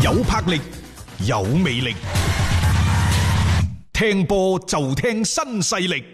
有魄力，有魅力，聽波就聽新勢力。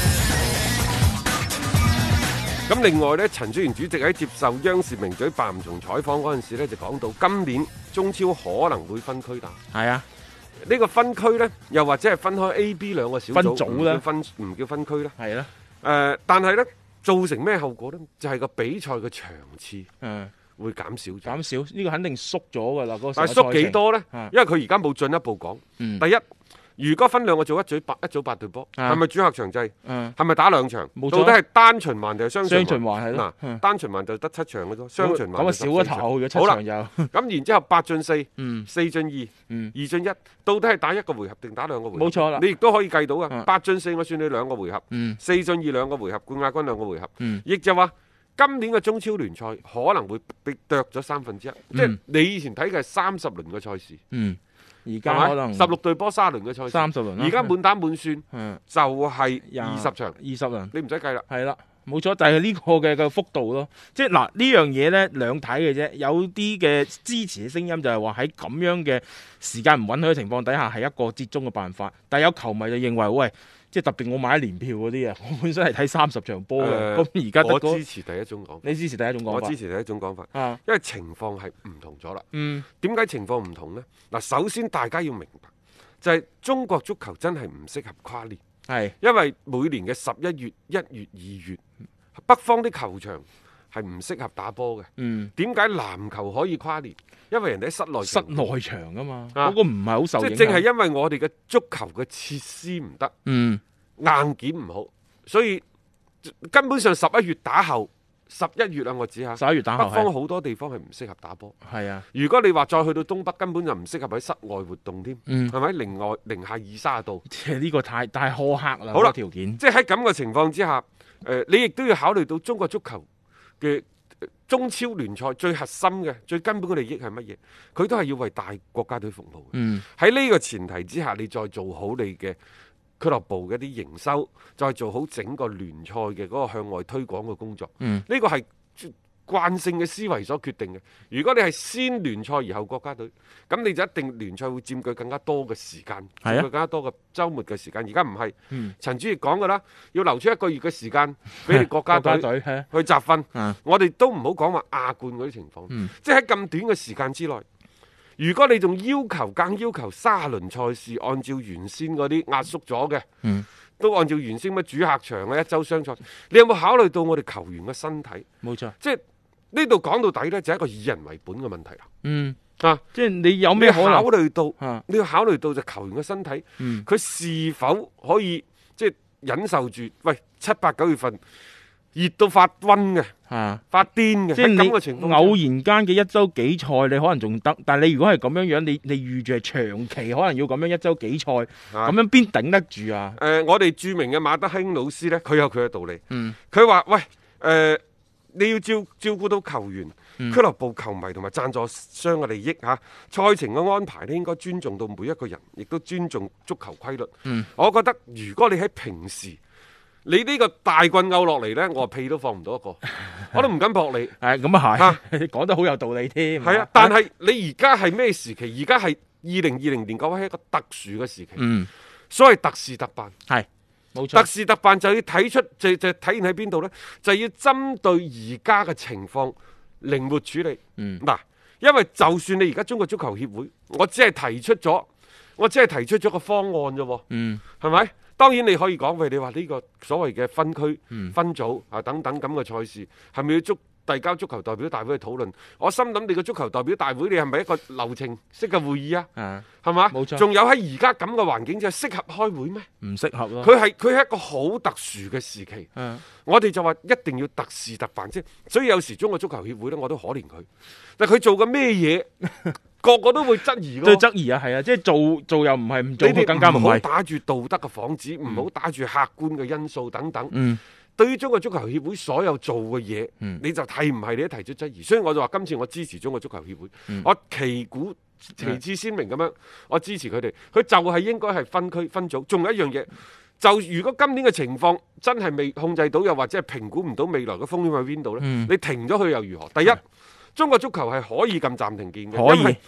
咁另外呢，陳戌源主席喺接受央視名嘴白吳松採訪嗰陣時呢，就講到今年中超可能會分區打。 係啊， 呢個分區呢，又或者係分開 A、B 兩個小組啦，唔叫分區啦。 係啦。 但係呢，造成咩後果呢？就係個比賽嘅場次會減少咗。 減少呢個肯定縮咗㗎啦。 但係縮幾多呢？因為佢而家冇進一步講。第一。如果分兩個組，一組8隊波，係咪主客場制？係咪打2場？到底係單循環定係雙循環？ 係咯。 單循環就得7場嘅啫，雙循環咁啊少咗頭嘅7場又。 咁然之後8進4，4進2，2進1，到底係打一個回合定打兩個回合？ 冇錯啦。 你亦都可以計到嘅。8進4我算你2個回合，4進2兩個回合，冠亞軍2個回合。亦就話今年嘅中超聯賽可能會被剁咗1/3，即係你以前睇嘅係30輪嘅賽事。 而家可能 16隊波30輪嘅賽事 ，30輪啦。 而家滿打滿算就係20場 ，20輪， 你唔使計啦。 係啦，冇錯，就係呢個嘅幅度咯。即係嗱呢樣嘢咧兩睇嘅啫。有啲嘅支持嘅聲音就係話喺咁樣嘅時間唔允許嘅情況底下係一個折中嘅辦法。但係有球迷就認為喂，即係特別我買年票嗰啲啊，我本身係睇30場波嘅。咁而家我支持第一種講法。 你支持第一種講法？ 我支持第一種講法。因為情況係唔同咗啦。點解情況唔同呢？嗱，首先大家要明白，就係中國足球真係唔適合跨年。 係， 因為每年嘅11月、1月、2月，北方啲球場係唔適合打波嘅。點解籃球可以跨年？因為人哋喺室內場啊嘛，嗰個唔係好受影響。 即係正係因為我哋嘅足球嘅設施唔得，硬件唔好，所以根本上11月打後，11月啊，我指下 11月打後， 北方好多地方係唔適合打波。 係啊， 如果你話再去到東北，根本就唔適合喺室外活動添，係咪？零下20-30度， 即係呢個太苛刻啦。 好啦， 條件即係喺咁嘅情況之下，你亦都要考慮到中國足球嘅中超聯賽最核心嘅、最根本嘅利益係乜嘢？佢都係要為大國家隊服務嘅。喺呢個前提之下，你再做好你嘅俱樂部嘅一啲營收，再做好整個聯賽嘅嗰個向外推廣嘅工作。呢個係慣性嘅思維所決定嘅。如果你係先聯賽而後國家隊，咁你就一定聯賽會佔據更加多嘅時間，佔據更加多嘅週末嘅時間。而家唔係，陳主席講㗎啦，要留出1個月嘅時間俾你國家隊去集訓。我哋都唔好講話亞冠嗰啲情況，即係喺咁短嘅時間之內，如果你仲更要求30輪賽事按照原先嗰啲壓縮咗嘅，都按照原先乜主客場嘅1週雙賽，你有冇考慮到我哋球員嘅身體？ 冇錯， 即係呢度講到底呢，就係一個以人為本嘅問題啦。 即係你有咩考慮到？你要考慮到就球員嘅身體，佢是否可以即係忍受住？喂，7、8、9月份熱到發瘟嘅，發癲嘅， 即係咁嘅情況， 偶然間嘅1週幾賽你可能仲得，但係你如果係咁樣樣，你預住係長期可能要咁樣1週幾賽，咁樣邊頂得住啊？ 我哋著名嘅馬德興老師呢，佢有佢嘅道理。佢話：喂，你要照顧到球員、俱樂部、球迷同埋贊助商嘅利益嚇，賽程嘅安排咧應該尊重到每一個人，亦都尊重足球規律。我覺得如果你喺平時，你呢個大棍拗落嚟呢，我屁都放唔到一個，我都唔敢撲你。 咁啊係，你講得好有道理添。 係啊，但係你而家係咩時期？而家係2020年，各位係一個特殊嘅時期。所謂特事特辦係。冇錯， 特事特辦就要睇出就體現喺邊度呢？就要針對而家嘅情況靈活處理。嗱，因為就算你而家中國足球協會，我只係提出咗個方案啫。係咪？當然你可以講，喂，你話呢個所謂嘅分區、分組啊等等咁嘅賽事，係咪要遞交足球代表大會去討論？我心諗你個足球代表大會，你係咪一個流程式嘅會議啊？係嘛？冇錯。仲有喺而家咁嘅環境之下，適合開會咩？唔適合咯。佢係一個好特殊嘅時期。我哋就話一定要特事特辦啫。所以有時中國足球協會呢，我都可憐佢。但佢做嘅咩嘢，個個都會質疑。對質疑啊，係啊，即係做又唔係，唔做更加唔係。唔好打住道德嘅幌子，唔好打住客觀嘅因素等等。對於中國足球協會所有做嘅嘢，你就睇唔係你都提出質疑，所以我就話今次我支持中國足球協會，我旗鼓旗幟鮮明咁樣，我支持佢哋，佢就係應該係分區分組。仲有一樣嘢，就如果今年嘅情況真係未控制到，又或者係評估唔到未來嘅風險喺邊度呢？你停咗佢又如何？第一，中國足球係可以撳暫停鍵嘅，可以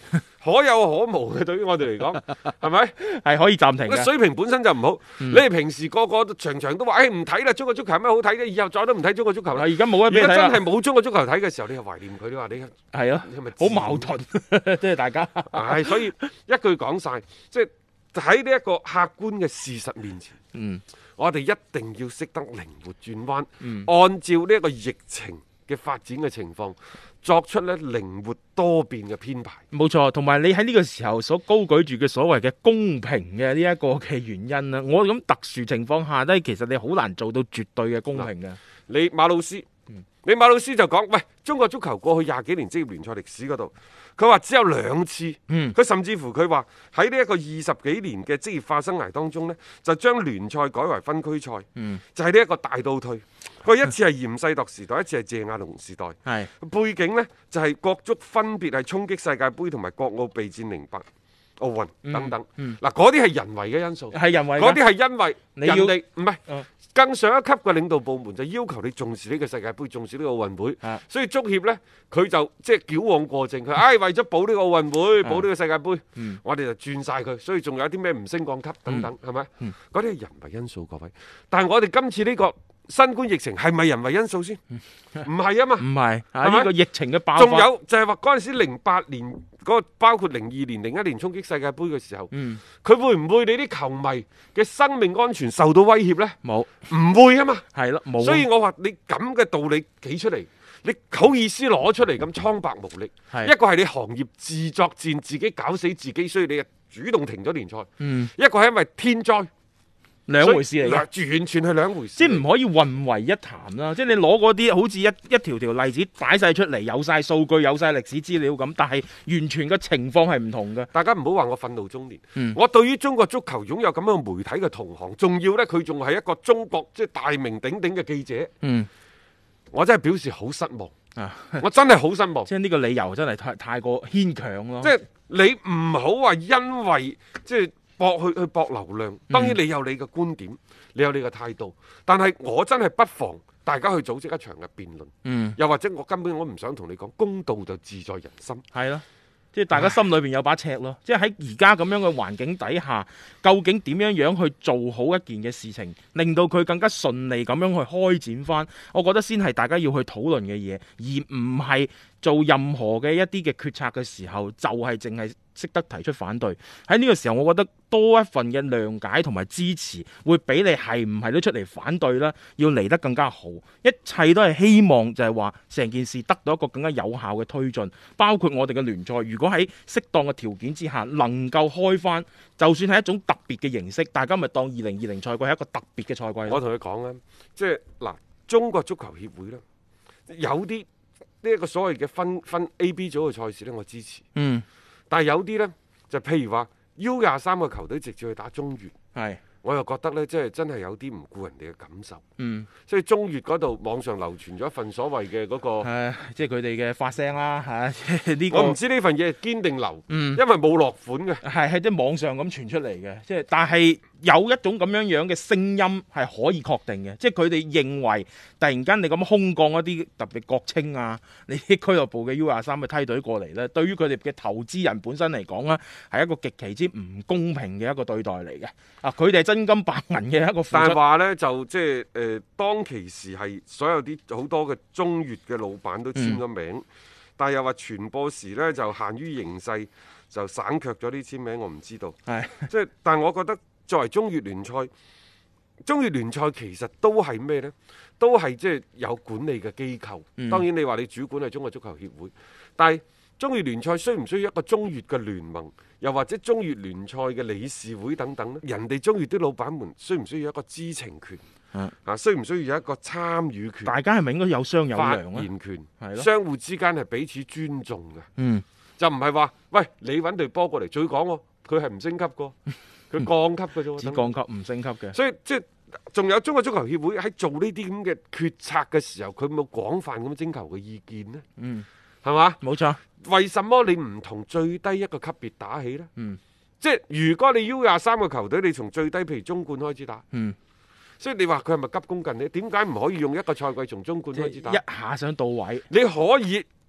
可有可無嘅，對於我哋嚟講，係咪？ 係可以暫停嘅。 個水平本身就唔好。你哋平時個個場場都話，誒唔睇啦，中國足球有咩好睇啫？以後再都唔睇中國足球啦。 而家冇得俾你睇啦。 而家真係冇中國足球睇嘅時候，你又懷念佢，你話你係啊， 係咪好矛盾，即係大家。 係，所以一句講晒，即係喺呢一個客觀嘅事實面前，我哋一定要識得靈活轉彎，按照呢一個疫情嘅發展嘅情況，作出咧靈活多變嘅編排。 冇錯，同埋你喺呢個時候所高舉住嘅所謂嘅公平嘅呢一個嘅原因啦，我諗特殊情況下咧，其實你好難做到絕對嘅公平嘅。 你馬魯斯，你馬魯斯就講，喂，中國足球過去20幾年職業聯賽歷史嗰度，佢話只有2次，佢甚至乎佢話喺呢一個20幾年嘅職業化生涯當中呢，就將聯賽改為分區賽，就係呢一個大倒退。佢一次係嚴世鐸時代，一次係謝亞龍時代，背景呢，就係國足分別係衝擊世界盃同埋國奧備戰08奧運等等。嗱，嗰啲係人為嘅因素， 係人為， 嗰啲係因為你要人哋唔係。更上一級嘅領導部門就要求你重視呢個世界盃，重視呢個奧運會，所以足協呢，佢就即係矯枉過正，佢為咗保呢個奧運會，保呢個世界盃，我哋就轉晒佢，所以仲有啲咩唔升降級等等，係咪？嗰啲係人為因素，各位。但係我哋今次呢個新冠疫情係咪人為因素先？唔係啊嘛， 唔係呢個疫情嘅爆發。 仲有就係話嗰陣時08年嗰個，包括02年、01年衝擊世界盃嘅時候，佢會唔會你啲球迷嘅生命安全受到威脅呢？ 冇， 唔會啊嘛。 係咯，冇。 所以我話你咁嘅道理企出嚟，你好意思攞出嚟咁蒼白無力？一個係你行業自作戰，自己搞死自己，所以你主動停咗聯賽。一個係因為天災。 兩回事嚟嘅， 完全係兩回事， 即係唔可以混為一談啦。即係你攞嗰啲好似一條條例子擺晒出嚟，有晒數據，有晒歷史資料咁，但係完全嘅情況係唔同嘅。 大家唔好話我憤怒中年，我對於中國足球擁有咁樣媒體嘅同行，仲要呢，佢仲係一個中國即係大名鼎鼎嘅記者，我真係表示好失望。我真係好失望。 即係呢個理由真係太過牽強咯。 即係你唔好話因為即係。去搏流量，當然你有你嘅觀點，你有你嘅態度，但係我真係不妨大家去組織一場嘅辯論，又或者我根本我唔想同你講，公道就自在人心， 係咯，即係大家心裏邊有把尺咯。即係喺而家咁樣嘅環境底下，究竟點樣去做好一件嘅事情，令到佢更加順利咁樣去開展翻，我覺得先係大家要去討論嘅嘢，而唔係做任何嘅一啲嘅決策嘅時候，就係淨係識得提出反對。喺呢個時候，我覺得多一份嘅諒解同埋支持，會比你係唔係都出嚟反對啦，要嚟得更加好。一切都係希望就係話成件事得到一個更加有效嘅推進，包括我哋嘅聯賽，如果喺適當嘅條件之下能夠開翻，就算係一種特別嘅形式，大家咪當2020賽季係一個特別嘅賽季。 我同你講啦，即係嗱，中國足球協會咧，有啲呢一個所謂嘅分 A、B 組嘅賽事咧，我支持。但係有啲呢，就譬如話 U23個球隊直接去打中乙，我又覺得呢，即係真係有啲唔顧人哋嘅感受。所以中乙嗰度網上流傳咗一份所謂嘅嗰個， 即係佢哋嘅發聲啦嚇。呢個我唔知呢份嘢堅定流，因為冇落款嘅， 係即係網上咁傳出嚟嘅。即係但係有一種咁樣嘅聲音係可以確定嘅，即係佢哋認為突然間你咁空降一啲特別國青啊，你啲俱樂部嘅 U23嘅梯隊過嚟呢，對於佢哋嘅投資人本身嚟講呢，係一個極其之唔公平嘅一個對待嚟嘅。佢哋係真金白銀嘅一個付出。 但係話呢，就即係當其時係所有啲好多嘅中乙嘅老闆都簽咗名，但係又話傳播時呢，就限於形勢，就省卻咗啲簽名，我唔知道。即係，但係我覺得作為中乙聯賽，中乙聯賽其實都係咩呢？都係即係有管理嘅機構。當然你話你主管係中國足球協會，但係中乙聯賽需唔需要一個中乙嘅聯盟，又或者中乙聯賽嘅理事會等等呢？人哋中乙啲老闆們需唔需要一個知情權？需唔需要有一個參與權？ 大家係咪應該有商有量啊？ 發言權，相互之間係彼此尊重嘅。就唔係話喂，你揾隊波過嚟，最講佢係唔升級個，佢降級嘅啫。 只降級唔升級嘅。 所以即係仲有中國足球協會喺做呢啲咁嘅決策嘅時候，佢冇廣泛咁徵求嘅意見呢？係嘛？冇錯。為什麼你唔同最低一個級別打起呢？即係如果你 U23個球隊，你從最低譬如中冠開始打。所以你話佢係咪急功近利？點解唔可以用一個賽季從中冠開始打？ 一下想到位， 你可以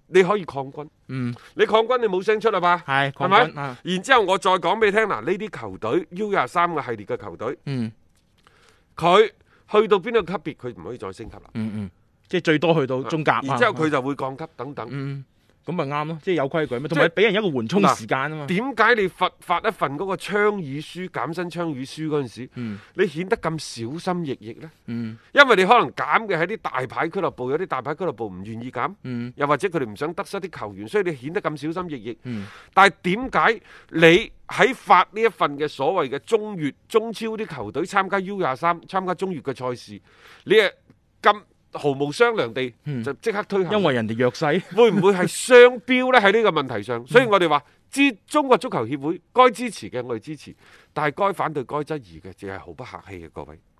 你可以抗軍，你抗軍你冇聲出啦吧？係咪？然之後我再講俾你聽，嗱，呢啲球隊 U23嘅系列嘅球隊，佢去到邊個級別，佢唔可以再升級啦。 即係最多去到中甲， 然之後佢就會降級等等。 咁咪啱咯，即係有規矩咩？同埋俾人一個緩衝時間啊嘛。 點解你發一份嗰個倡議書、減薪倡議書嗰陣時，你顯得咁小心翼翼呢？因為你可能減嘅係啲大牌俱樂部，有啲大牌俱樂部唔願意減，又或者佢哋唔想得失啲球員，所以你顯得咁小心翼翼。但係點解你喺發呢一份嘅所謂嘅中乙、中超啲球隊參加 U23、參加中乙嘅賽事，你係咁毫無商量地就即刻推行？ 因為人哋弱勢， 會唔會係雙標呢？喺呢個問題上，所以我哋話中國足球協會該支持嘅我哋支持，但係該反對、該質疑嘅，淨係毫不客氣嘅各位。